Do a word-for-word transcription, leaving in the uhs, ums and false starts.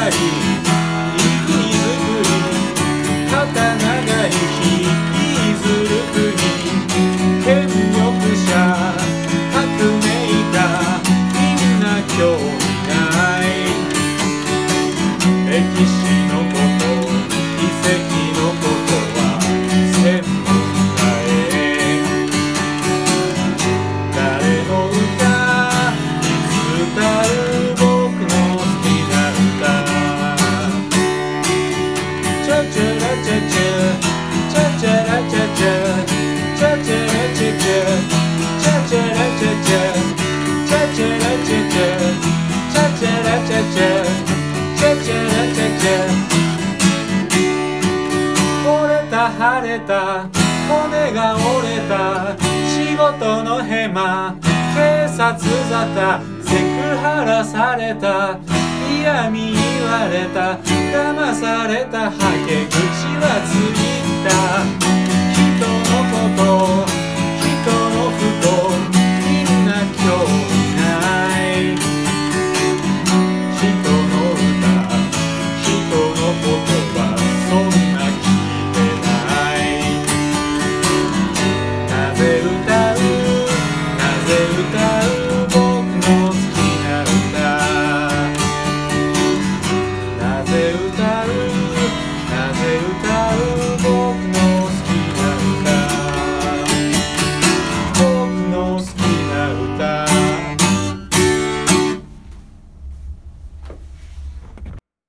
り泉作り肩長い引きずる国権力者革命家みんな興味ない歴史のこと遺跡のことは専門家へ誰の歌いつ歌う僕の好きな歌チャチャラチャチャチャチャラチャチャチャチャラチャチャチャチャラチャチャチャチャラチャチャチャチャラチャチャチャチャラチャチャ折れた腫れた骨が折れた仕事のヘマ警察沙汰セクハラされた嫌味言われた騙されたはけ口はついた人のこと